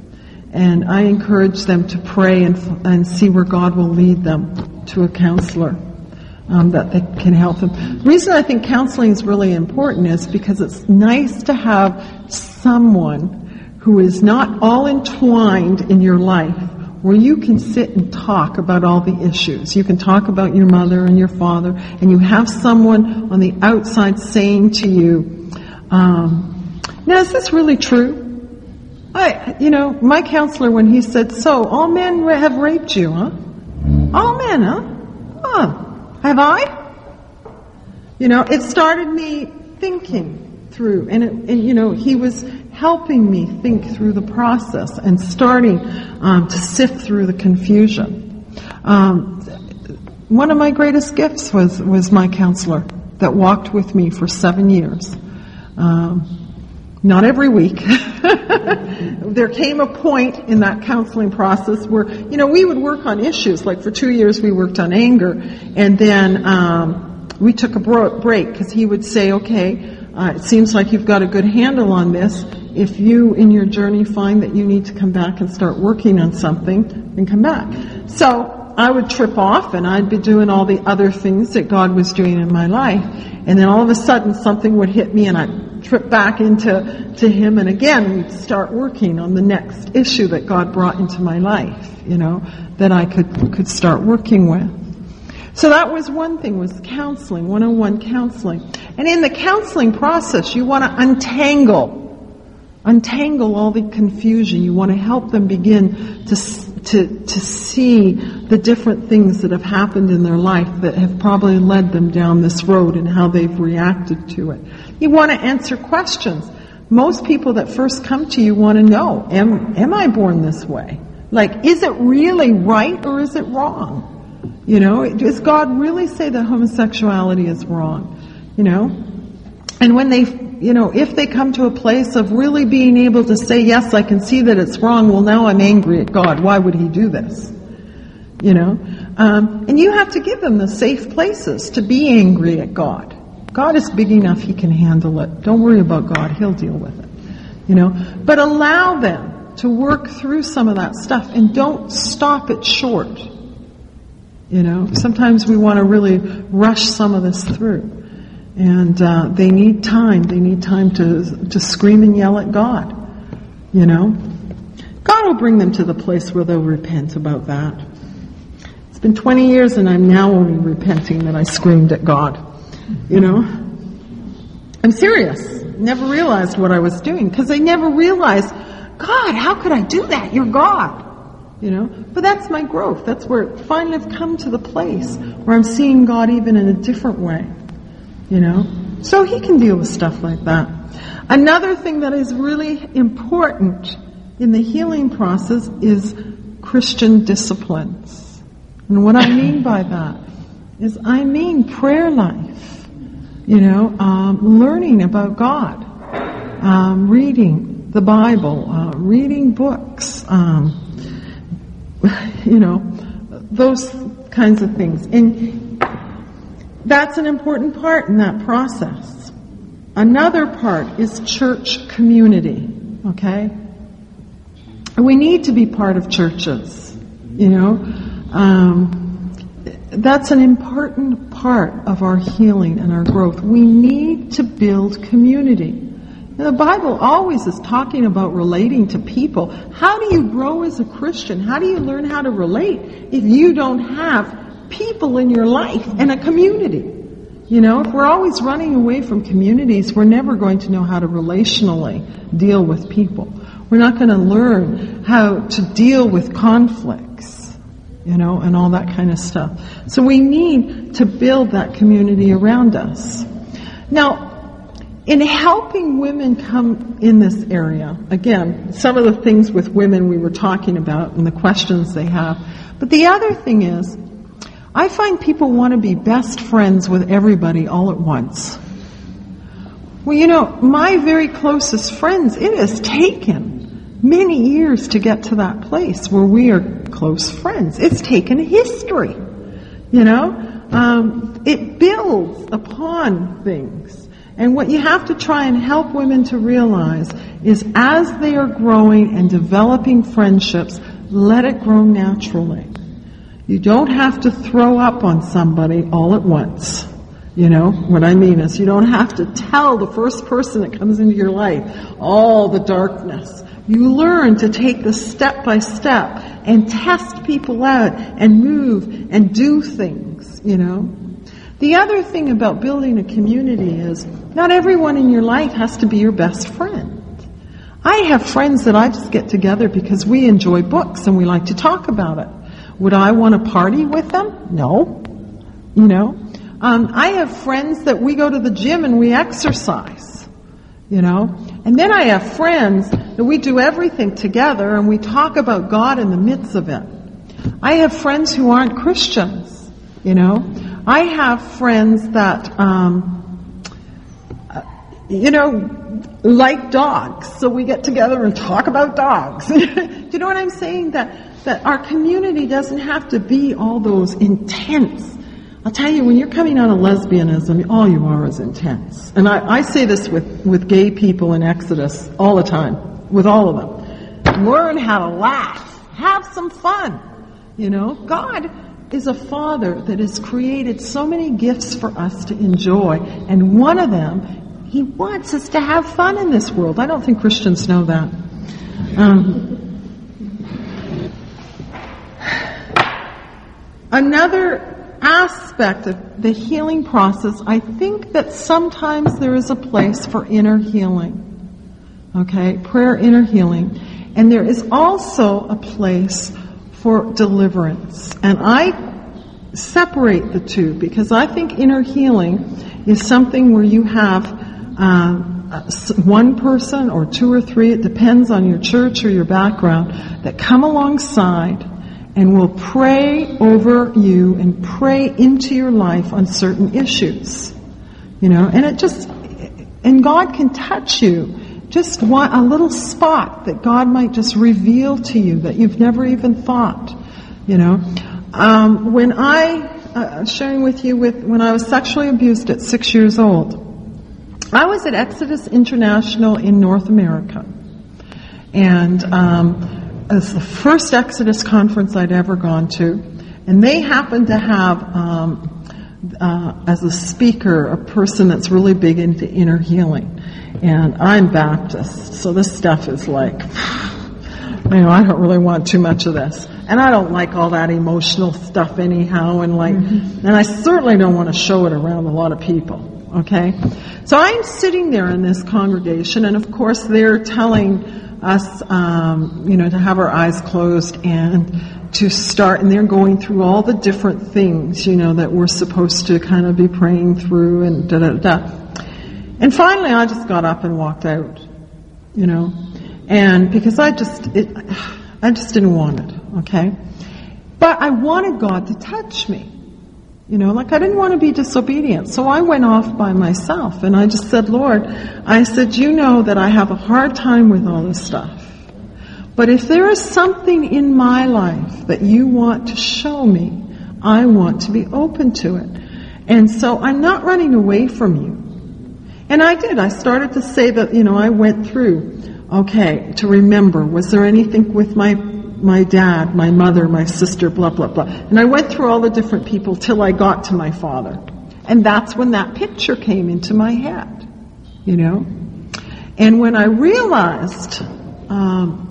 S4: And I encourage them to pray and, and see where God will lead them to a counselor um, that they can help them. The reason I think counseling is really important is because it's nice to have someone who is not all entwined in your life, where you can sit and talk about all the issues. You can talk about your mother and your father, and you have someone on the outside saying to you, um, now is this really true? I, you know, my counselor, when he said, so, all men have raped you, huh? All men, huh? Huh. Have I? You know, it started me thinking through, and, it, and you know, he was helping me think through the process and starting um, to sift through the confusion. Um, one of my greatest gifts was, was my counselor that walked with me for seven years. Um, Not every week. There came a point in that counseling process where, you know, we would work on issues. Like for two years we worked on anger. And then um, we took a break because he would say, okay, uh, it seems like you've got a good handle on this. If you, in your journey, find that you need to come back and start working on something, then come back. So I would trip off and I'd be doing all the other things that God was doing in my life. And then all of a sudden something would hit me and I'd trip back into to him, and again we'd start working on the next issue that God brought into my life, you know, that I could could start working with. So that was one thing, was counseling, one-on-one counseling. And in the counseling process, you want to untangle, untangle all the confusion. You want to help them begin to to to see the different things that have happened in their life that have probably led them down this road and how they've reacted to it. You want to answer questions. most people that first come to you want to know, am, am I born this way? Like, is it really right or is it wrong? You know, does God really say that homosexuality is wrong? You know? And when they, you know, if they come to a place of really being able to say, yes, I can see that it's wrong, well, now I'm angry at God. Why would He do this? You know? Um, and you have to give them the safe places to be angry at God. God is big enough, He can handle it. Don't worry about God, He'll deal with it. You know? But allow them to work through some of that stuff and don't stop it short. You know? Sometimes we want to really rush some of this through. And uh, they need time. They need time to to scream and yell at God. You know? God will bring them to the place where they'll repent about that. It's been twenty years and I'm now only repenting that I screamed at God. You know? I'm serious. Never realized what I was doing because I never realized, God, how could I do that? You're God. You know? But that's my growth. That's where finally I've come to the place where I'm seeing God even in a different way. You know? So He can deal with stuff like that. Another thing that is really important in the healing process is Christian disciplines. And what I mean by that is I mean prayer life. You know, um, learning about God, um, reading the Bible, uh, reading books, um, you know, those kinds of things. And that's an important part in that process. Another part is church community, okay? We need to be part of churches, you know. Um, That's an important part of our healing and our growth. We need to build community. Now, the Bible always is talking about relating to people. How do you grow as a Christian? How do you learn how to relate if you don't have people in your life and a community? You know, if we're always running away from communities, we're never going to know how to relationally deal with people. We're not going to learn how to deal with conflicts. You know, and all that kind of stuff. So we need to build that community around us. Now, in helping women come in this area, again, some of the things with women we were talking about and the questions they have. But the other thing is, I find people want to be best friends with everybody all at once. Well, you know, my very closest friends, it has taken many years to get to that place where we are close friends. It's taken a history, you know. Um, it builds upon things. And what you have to try and help women to realize is as they are growing and developing friendships, let it grow naturally. You don't have to throw up on somebody all at once. You know, what I mean is you don't have to tell the first person that comes into your life all the darkness. You learn to take the step by step and test people out and move and do things, you know. The other thing about building a community is not everyone in your life has to be your best friend. I have friends that I just get together because we enjoy books and we like to talk about it. Would I want to party with them? No. You know. Um, I have friends that we go to the gym and we exercise, you know. And then I have friends that we do everything together and we talk about God in the midst of it. I have friends who aren't Christians, you know. I have friends that, um, you know, like dogs. So we get together and talk about dogs. Do you know what I'm saying? That, that our community doesn't have to be all those intense. I'll tell you, when you're coming out of lesbianism, all you are is intense. And I, I say this with, with gay people in Exodus all the time, with all of them. Learn how to laugh. Have some fun. You know, God is a Father that has created so many gifts for us to enjoy. And one of them, He wants us to have fun in this world. I don't think Christians know that. Um, another aspect of the healing process, I think that sometimes there is a place for inner healing. Okay? Prayer, inner healing. And there is also a place for deliverance. And I separate the two because I think inner healing is something where you have uh, one person or two or three, it depends on your church or your background, that come alongside and will pray over you and pray into your life on certain issues. You know, and it just, and God can touch you. Just one, a little spot that God might just reveal to you that you've never even thought. You know, um, when I, uh, sharing with you with, when I was sexually abused at six years old, I was at Exodus International in North America. And, um, it was the first Exodus conference I'd ever gone to. And they happened to have, um, uh, as a speaker, a person that's really big into inner healing. And I'm Baptist, so this stuff is like, you know, I don't really want too much of this. And I don't like all that emotional stuff anyhow, and like, mm-hmm. and I certainly don't want to show it around a lot of people, okay? So I'm sitting there in this congregation, and of course they're telling us, um, you know, to have our eyes closed and to start, and they're going through all the different things, you know, that we're supposed to kind of be praying through and da da da. And finally, I just got up and walked out, you know, and because I just, it, I just didn't want it, okay? But I wanted God to touch me, you know, like I didn't want to be disobedient. So I went off by myself and I just said, Lord, I said, you know that I have a hard time with all this stuff. But if there is something in my life that you want to show me, I want to be open to it. And so I'm not running away from you. And I did. I started to say that, you know, I went through, okay, to remember, was there anything with my my dad, my mother, my sister, blah, blah, blah. And I went through all the different people till I got to my father. And that's when that picture came into my head, you know. And when I realized um,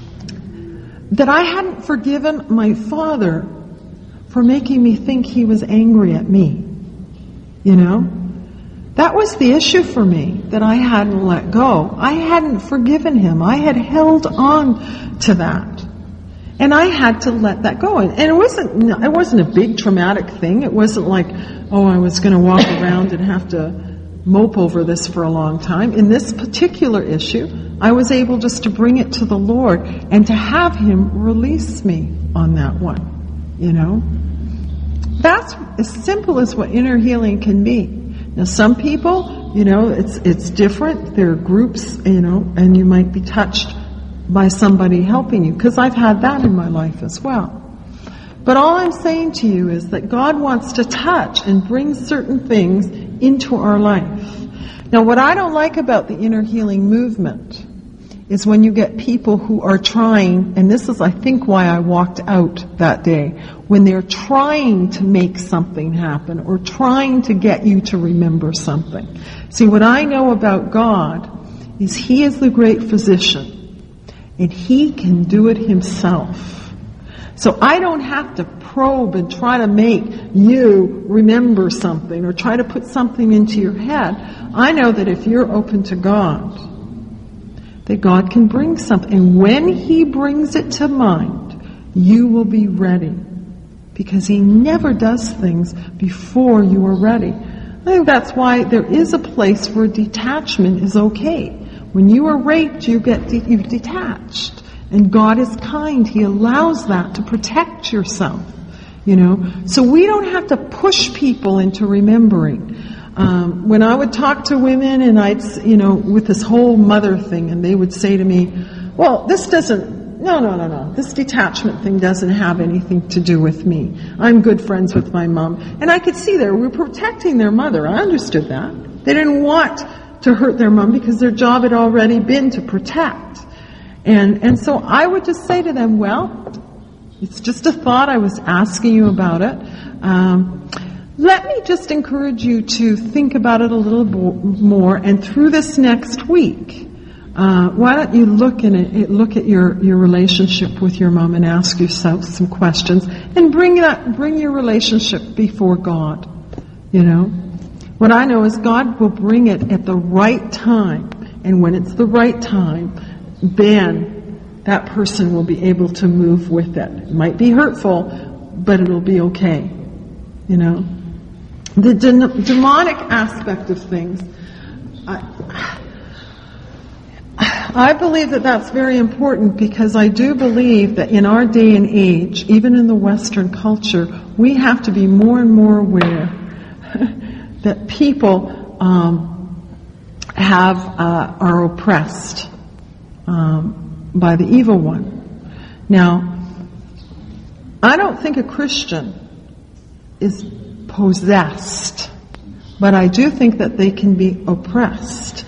S4: that I hadn't forgiven my father for making me think he was angry at me, you know. That was the issue for me, that I hadn't let go. I hadn't forgiven him. I had held on to that. And I had to let that go. And it wasn't, it wasn't a big traumatic thing. It wasn't like, oh, I was going to walk around and have to mope over this for a long time. In this particular issue, I was able just to bring it to the Lord and to have Him release me on that one, you know. That's as simple as what inner healing can be. Now, some people, you know, it's it's different. There are groups, you know, and you might be touched by somebody helping you, because I've had that in my life as well. But all I'm saying to you is that God wants to touch and bring certain things into our life. Now, what I don't like about the inner healing movement is when you get people who are trying, and this is, I think, why I walked out that day, when they're trying to make something happen or trying to get you to remember something. See, what I know about God is He is the great physician, and He can do it Himself. So I don't have to probe and try to make you remember something or try to put something into your head. I know that if you're open to God, that God can bring something. And when He brings it to mind, you will be ready. Because He never does things before you are ready. I think that's why there is a place where detachment is okay. When you are raped, you get de- you're detached. And God is kind. He allows that to protect yourself. You know, so we don't have to push people into remembering. Um, when I would talk to women and I'd, you know, with this whole mother thing, and they would say to me, well, this doesn't, no, no, no, no, this detachment thing doesn't have anything to do with me. I'm good friends with my mom. And I could see they were protecting their mother. I understood that. They didn't want to hurt their mom because their job had already been to protect. And, and so I would just say to them, well, it's just a thought. I was asking you about it. Um, Let me just encourage you to think about it a little more, and through this next week, uh, why don't you look in it, look at your, your relationship with your mom and ask yourself some questions, and bring that bring your relationship before God. You know, what I know is God will bring it at the right time, and when it's the right time, then that person will be able to move with it. It might be hurtful, but it'll be okay. You know. The de- demonic aspect of things, I, I believe that that's very important because I do believe that in our day and age, even in the Western culture, we have to be more and more aware that people um, have uh, are oppressed um, by the evil one. Now, I don't think a Christian is possessed, but I do think that they can be oppressed.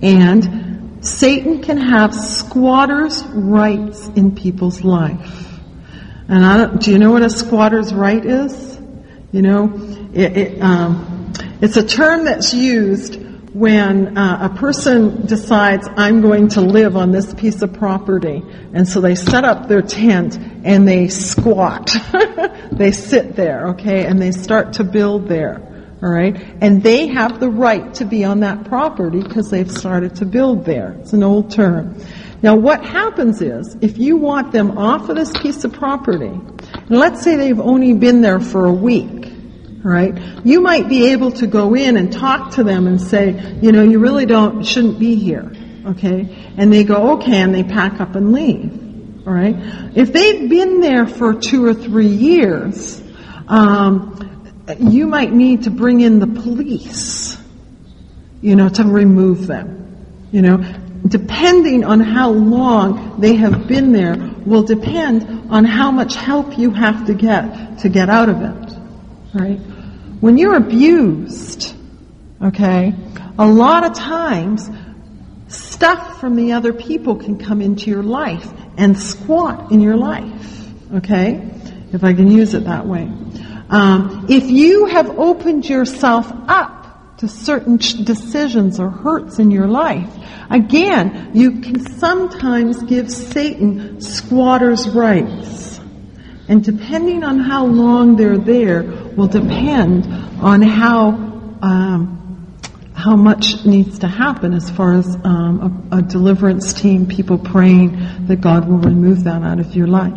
S4: And Satan can have squatter's rights in people's life. And I don't, do you know what a squatter's right is? You know, it, it, um, it's a term that's used when uh, a person decides, I'm going to live on this piece of property. And so they set up their tent and they squat. They sit there, okay, and they start to build there. All right? And they have the right to be on that property because they've started to build there. It's an old term. Now what happens is, if you want them off of this piece of property, and let's say they've only been there for a week, all right? You might be able to go in and talk to them and say, you know, you really don't, shouldn't be here, okay? And they go, okay, and they pack up and leave, all right? If they've been there for two or three years, um, you might need to bring in the police, you know, to remove them. You know, depending on how long they have been there will depend on how much help you have to get to get out of it. Right? When you're abused, okay, a lot of times stuff from the other people can come into your life and squat in your life. Okay? If I can use it that way. Um, if you have opened yourself up to certain decisions or hurts in your life, again, you can sometimes give Satan squatter's rights. And depending on how long they're there will depend on how um, how much needs to happen as far as um, a, a deliverance team, people praying that God will remove that out of your life.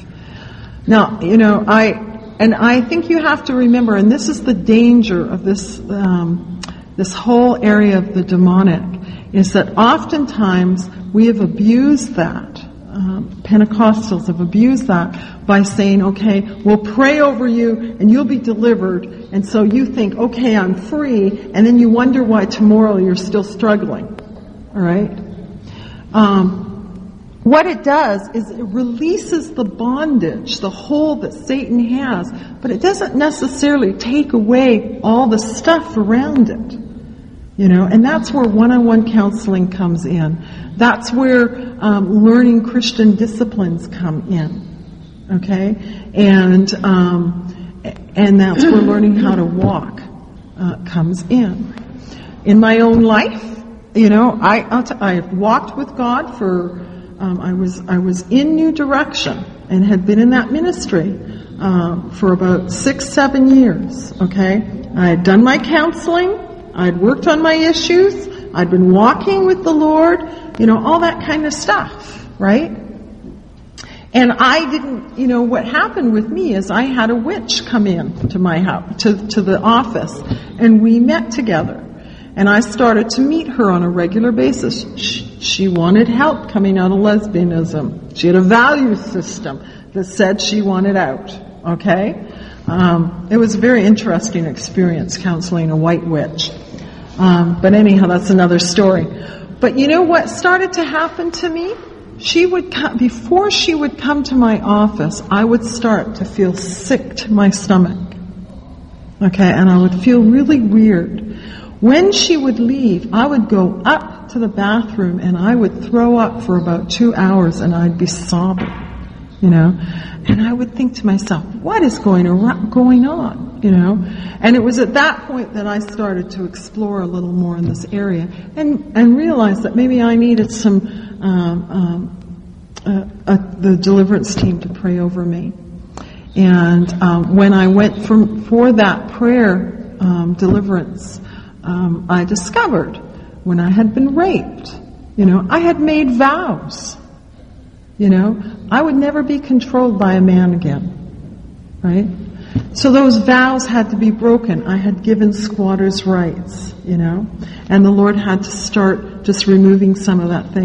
S4: Now, you know, I... And I think you have to remember, and this is the danger of this um, this whole area of the demonic, is that oftentimes we have abused that. Um, Pentecostals have abused that by saying, okay, we'll pray over you and you'll be delivered. And so you think, okay, I'm free. And then you wonder why tomorrow you're still struggling. All right? Um, What it does is it releases the bondage, the hold that Satan has, but it doesn't necessarily take away all the stuff around it. You know, and that's where one-on-one counseling comes in. That's where um, learning Christian disciplines come in. Okay? And um, and that's where learning how to walk uh, comes in. In my own life, you know, I I'll t- I've walked with God for Um, I was I was in New Direction and had been in that ministry um, for about six, seven years. Okay, I had done my counseling, I'd worked on my issues, I'd been walking with the Lord, you know, all that kind of stuff, right? And I didn't, you know, what happened with me is I had a witch come in to my house, to to the office, and we met together. And I started to meet her on a regular basis. She, she wanted help coming out of lesbianism. She had a value system that said she wanted out. Okay? Um, it was a very interesting experience counseling a white witch. Um, but anyhow, that's another story. But you know what started to happen to me? She would come, before she would come to my office, I would start to feel sick to my stomach. Okay? And I would feel really weird. When she would leave, I would go up to the bathroom and I would throw up for about two hours and I'd be sobbing, you know. And I would think to myself, what is going around, going on, you know? And it was at that point that I started to explore a little more in this area and, and realized that maybe I needed some, um, um, uh, uh, the deliverance team to pray over me. And um, when I went from, for that prayer um, deliverance, Um, I discovered when I had been raped, you know, I had made vows, you know, I would never be controlled by a man again, right? So those vows had to be broken. I had given squatters' rights, you know, and the Lord had to start just removing some of that thing.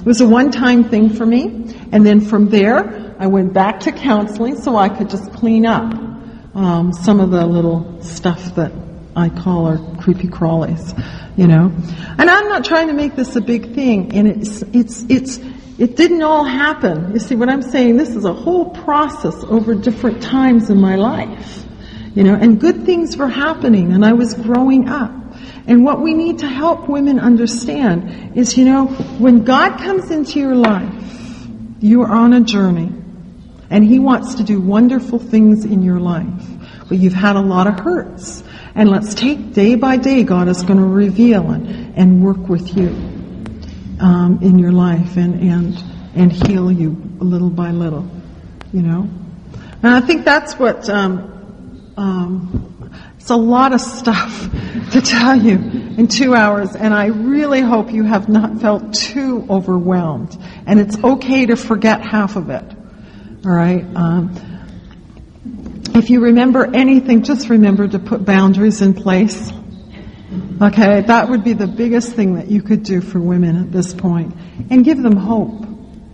S4: it was a one-time thing for me. And then from there, I went back to counseling so I could just clean up um, some of the little stuff that I call our creepy crawlies, you know. And I'm not trying to make this a big thing. And it's, it's, it's, it didn't all happen. You see what I'm saying? This is a whole process over different times in my life, you know. And good things were happening, and I was growing up. And what we need to help women understand is, you know, when God comes into your life, you are on a journey, and He wants to do wonderful things in your life. But you've had a lot of hurts. And let's take day by day, God is going to reveal and, and work with you um, in your life and, and, and heal you little by little, you know. And I think that's what, um, um, it's a lot of stuff to tell you in two hours. And I really hope you have not felt too overwhelmed. And it's okay to forget half of it. All right. Um, If you remember anything, just remember to put boundaries in place. Okay, that would be the biggest thing that you could do for women at this point. And give them hope.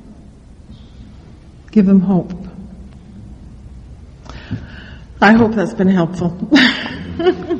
S4: Give them hope. I hope that's been helpful.